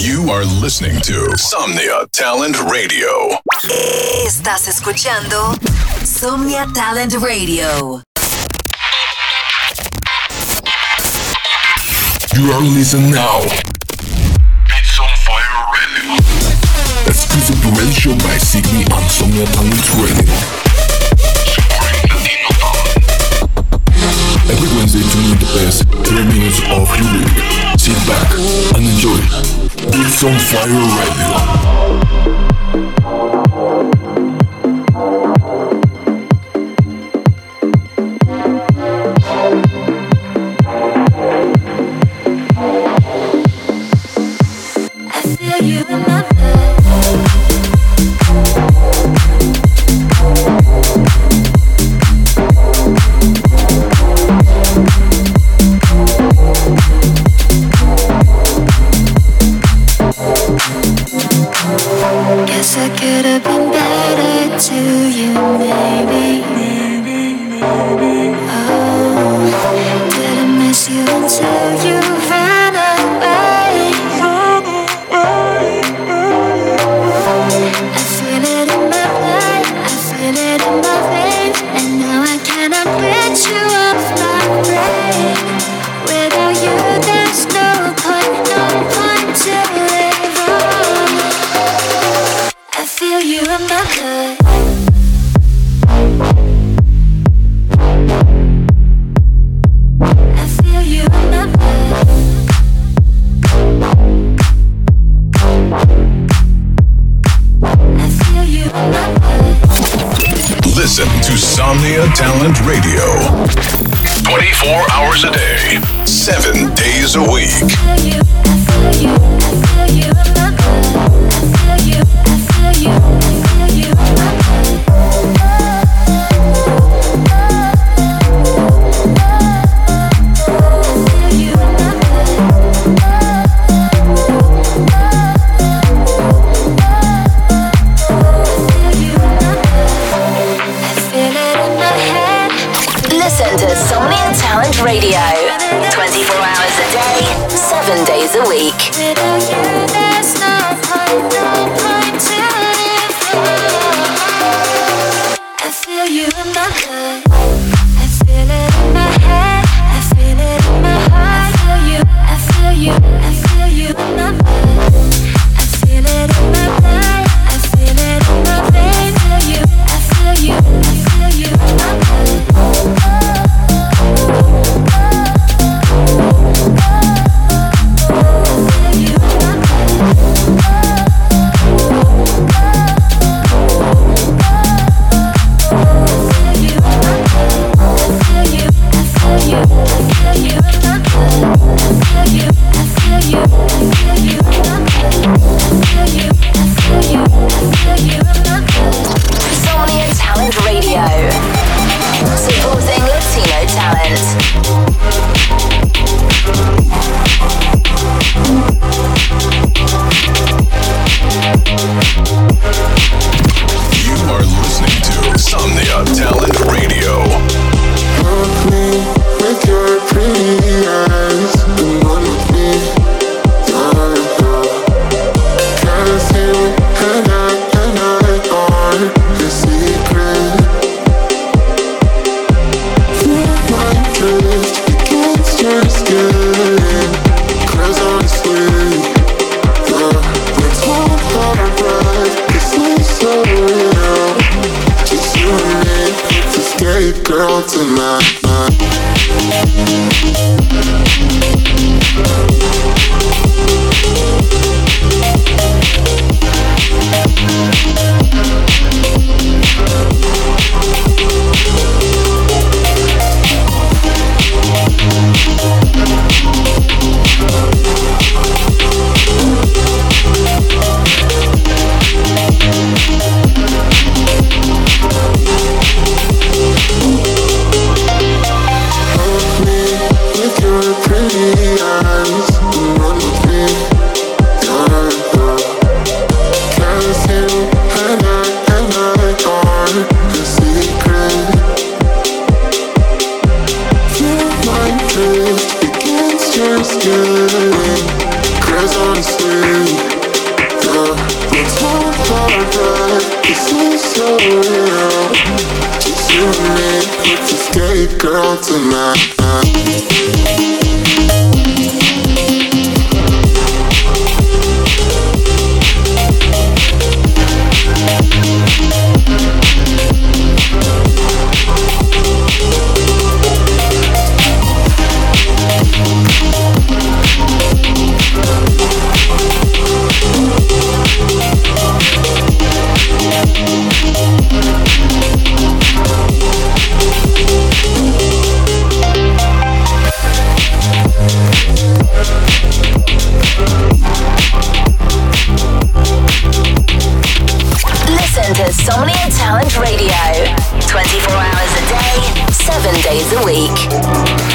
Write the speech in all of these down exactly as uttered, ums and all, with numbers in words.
You are listening to Somnia Talent Radio. Estás escuchando Somnia Talent Radio. You are listening now. Beats on Fire Radio. Exclusive to radio show by Signy on Somnia Talent Radio. Supporting Latino talent. Every Wednesday, tune in the best thirty minutes of your week. Sit back and enjoy. Beats on Fire Radio. Listen to Somnia Talent Radio. twenty-four hours a day, seven days a week. Radio, twenty-four hours a day, seven days a week. Without you, there's no point, no point to live for. I feel you in my blood, I feel it in my head, I feel it in my heart. I feel you, I feel you, I feel you in my blood, I feel it in my blood, I feel it in my veins. I feel you, I feel you, I feel you in my blood. Somnia Talent Radio, supporting Latino talent. You are listening to Somnia Talent Radio. Look me with your pretty eyes, and one with me, darling. Cause you and I and I are the secret. Feel my drift against your skin. Cause honestly, the let's hold our breath. This is so real. Just you and me, it's a scary girl tonight. Against your skin, 'cause honestly alright. This is so real. Just you and me, with this gay girl tonight. Insomnia Talent Radio. twenty-four hours a day, seven days a week.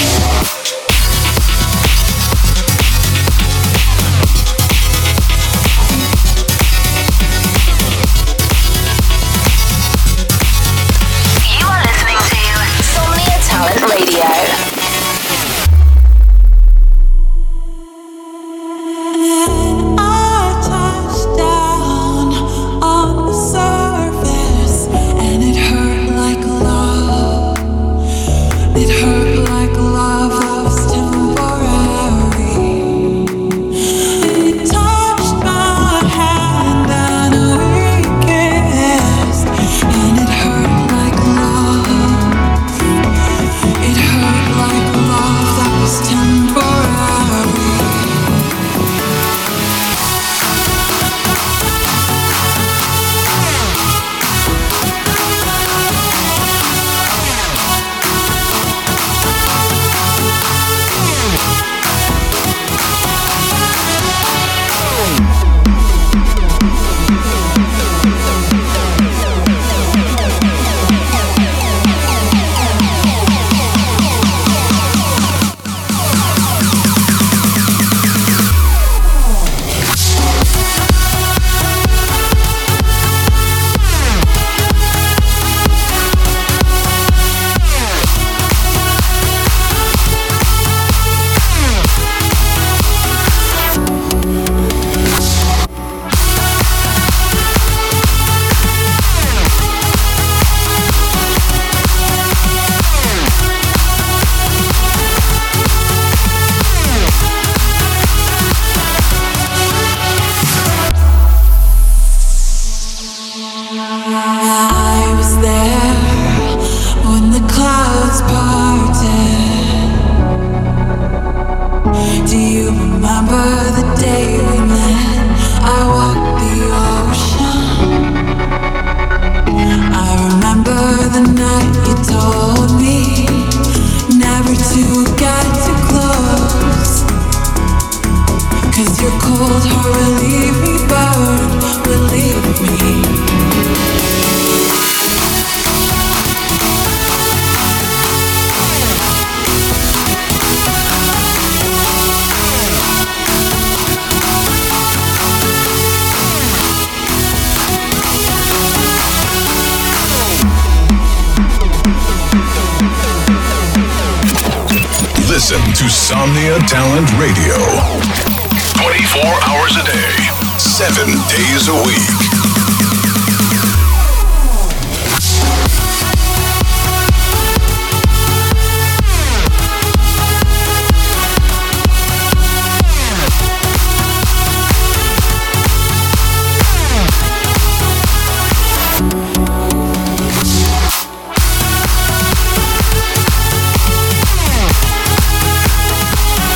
Listen to Somnia Talent Radio. twenty-four hours a day, seven days a week.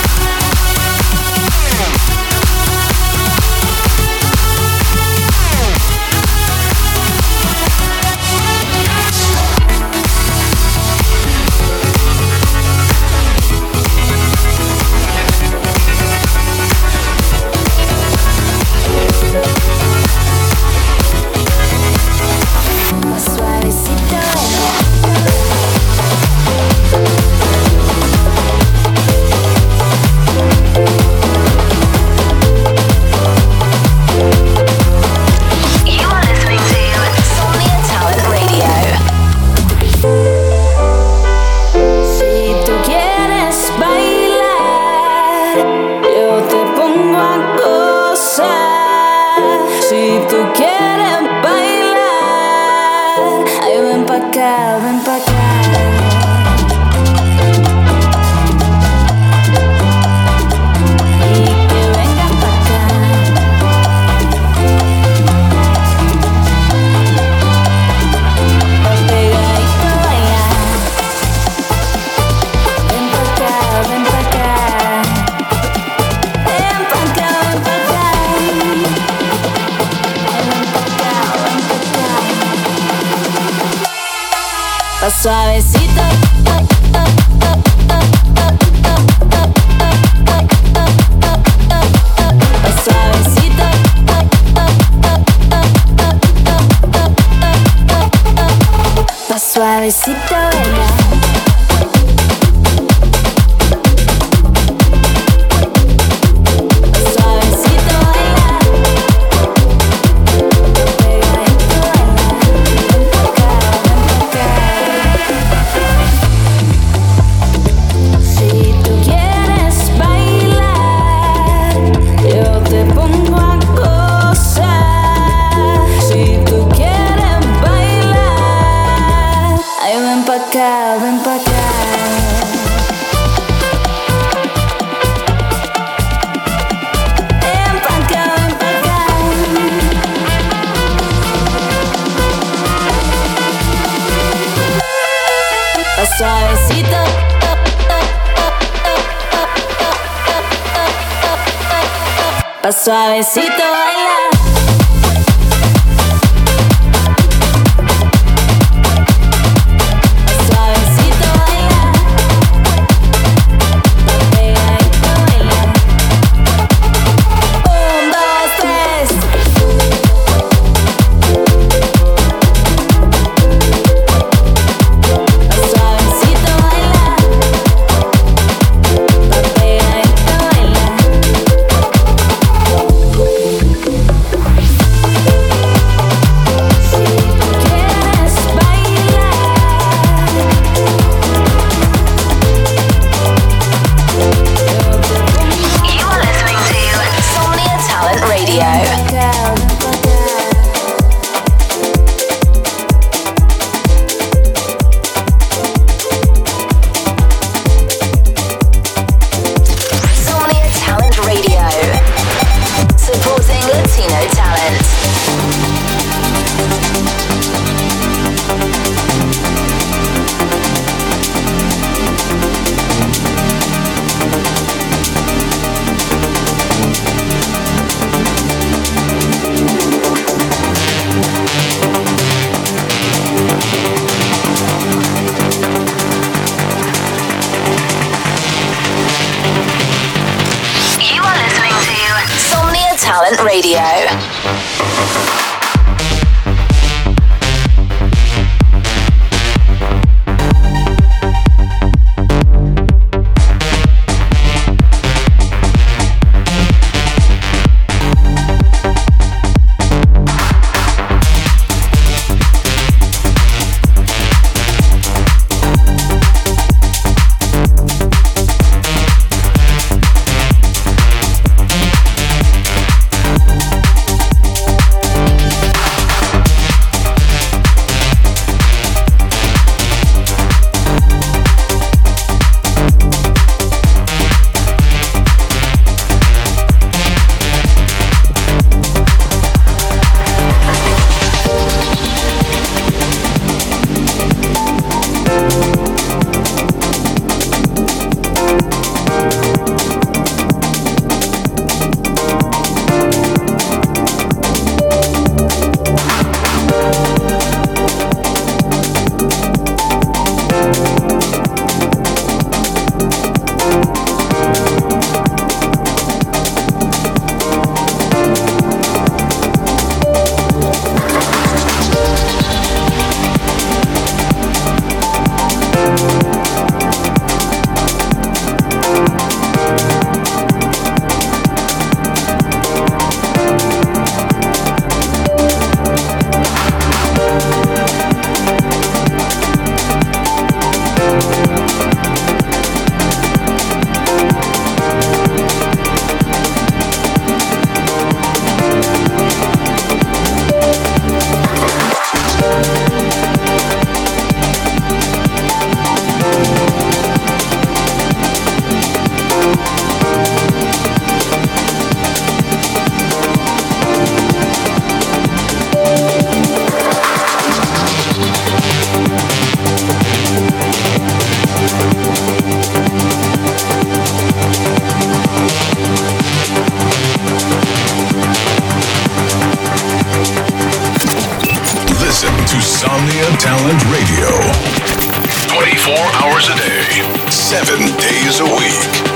Yeah. tú quieres bailar, ay, ven pa' acá, ven pa' acá. Suavecito, suavecito, suavecito, baila. Ven pa' acá. Ven pa' acá, ven pa' acá. Pa' suavecito. Pa' suavecito baila. Radio. Insomnia Talent Radio. twenty-four hours a day, seven days a week.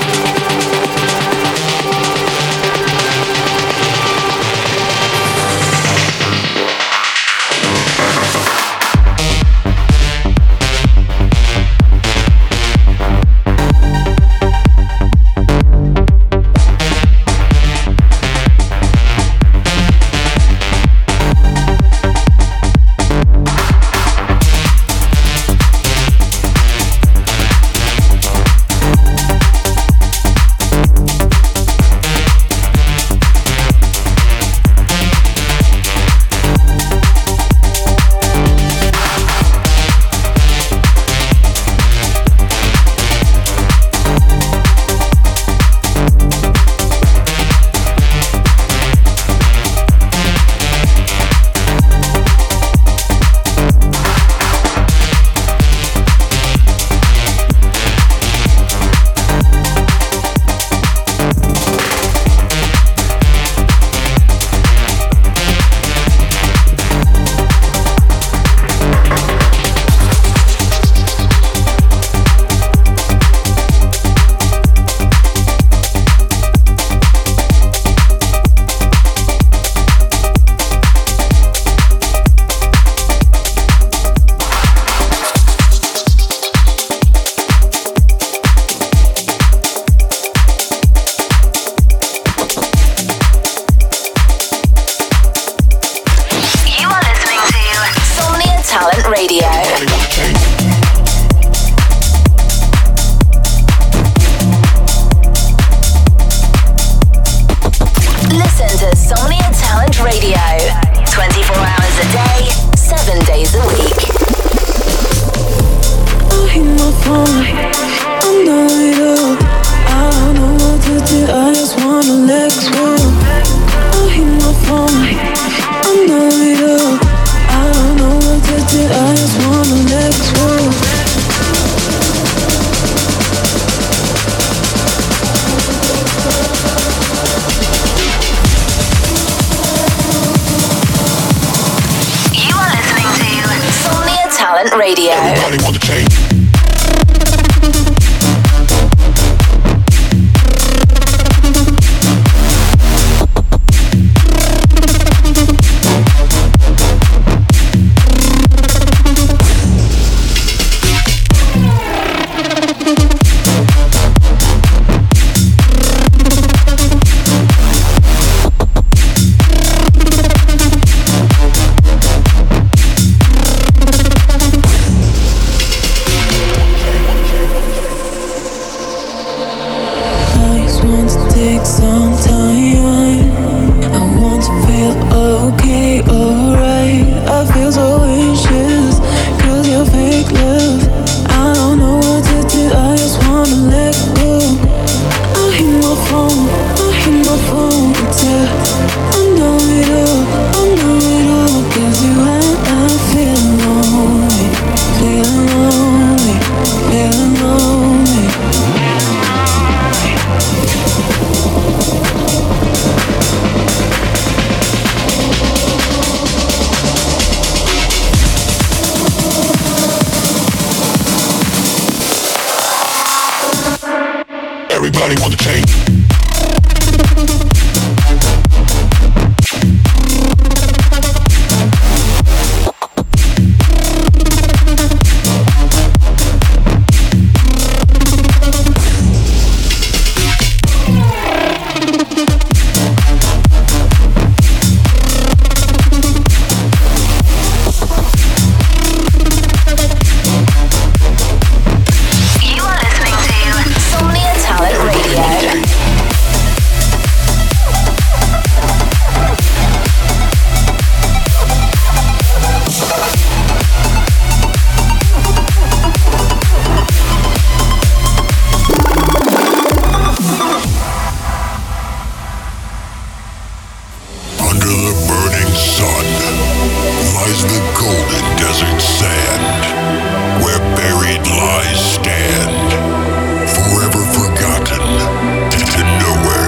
Radio. Everybody want to change. Everybody want to change.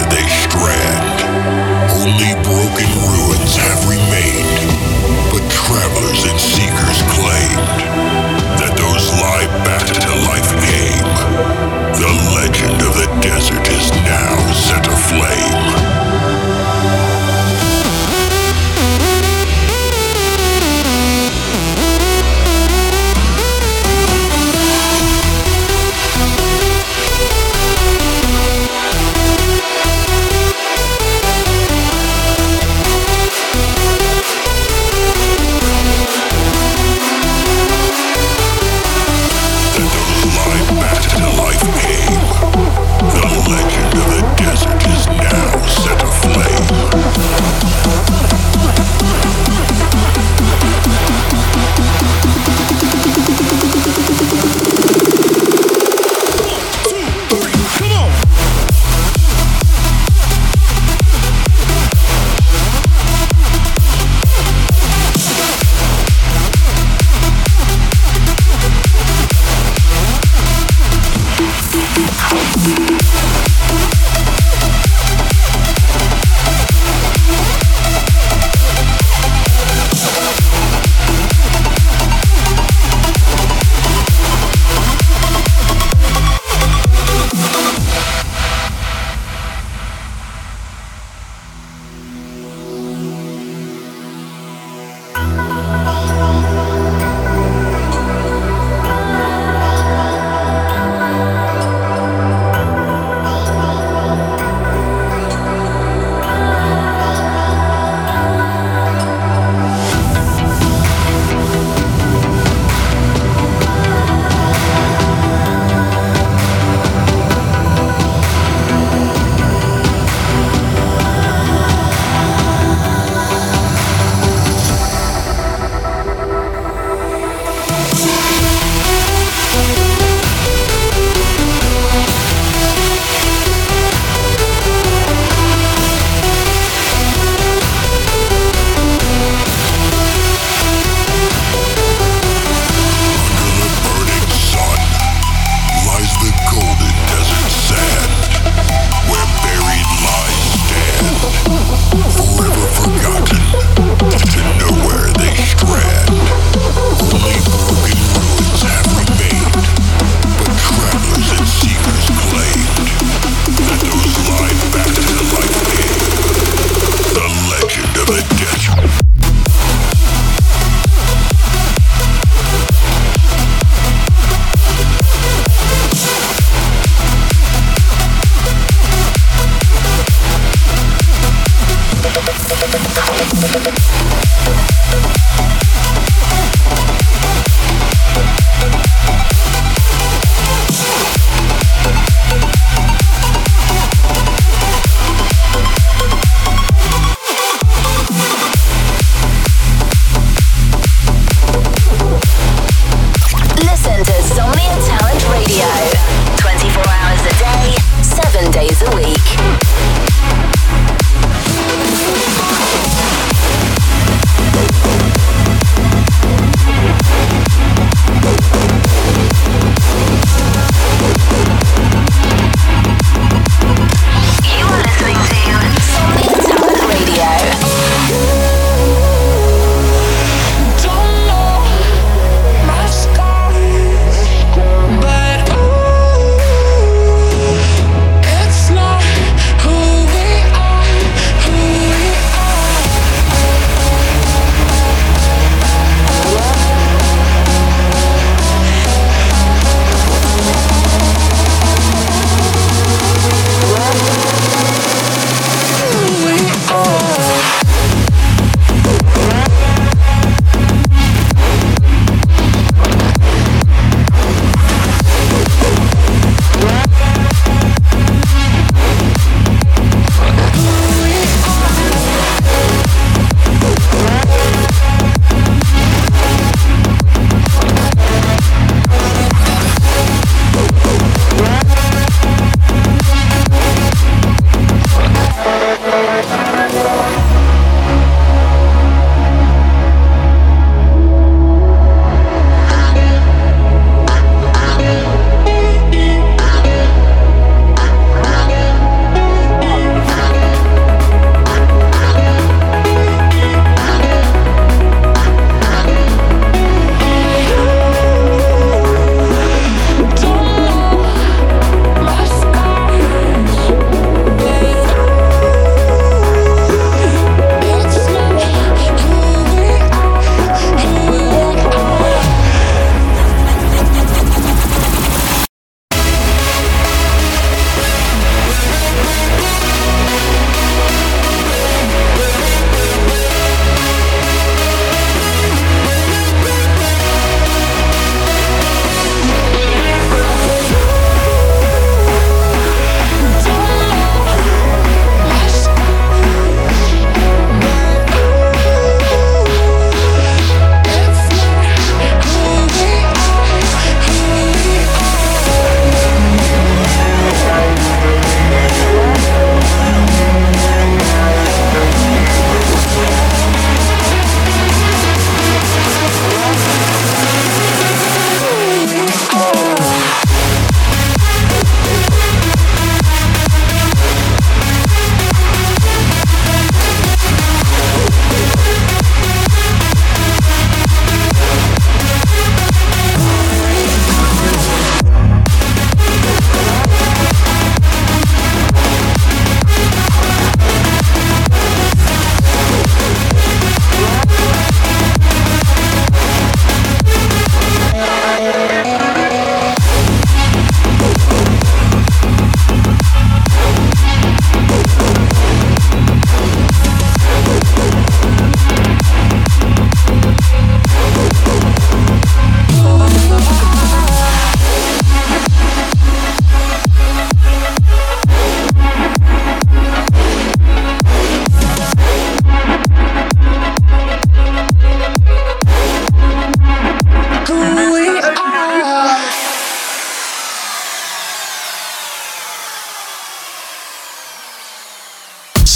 Broken ruins have remained, but travelers and seekers claimed that those live back to life came. The legend of the desert is now set aflame. days a week.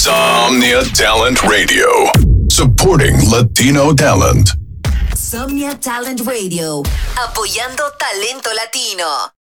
Somnia Talent Radio. Supporting Latino talent. Somnia Talent Radio. Apoyando talento latino.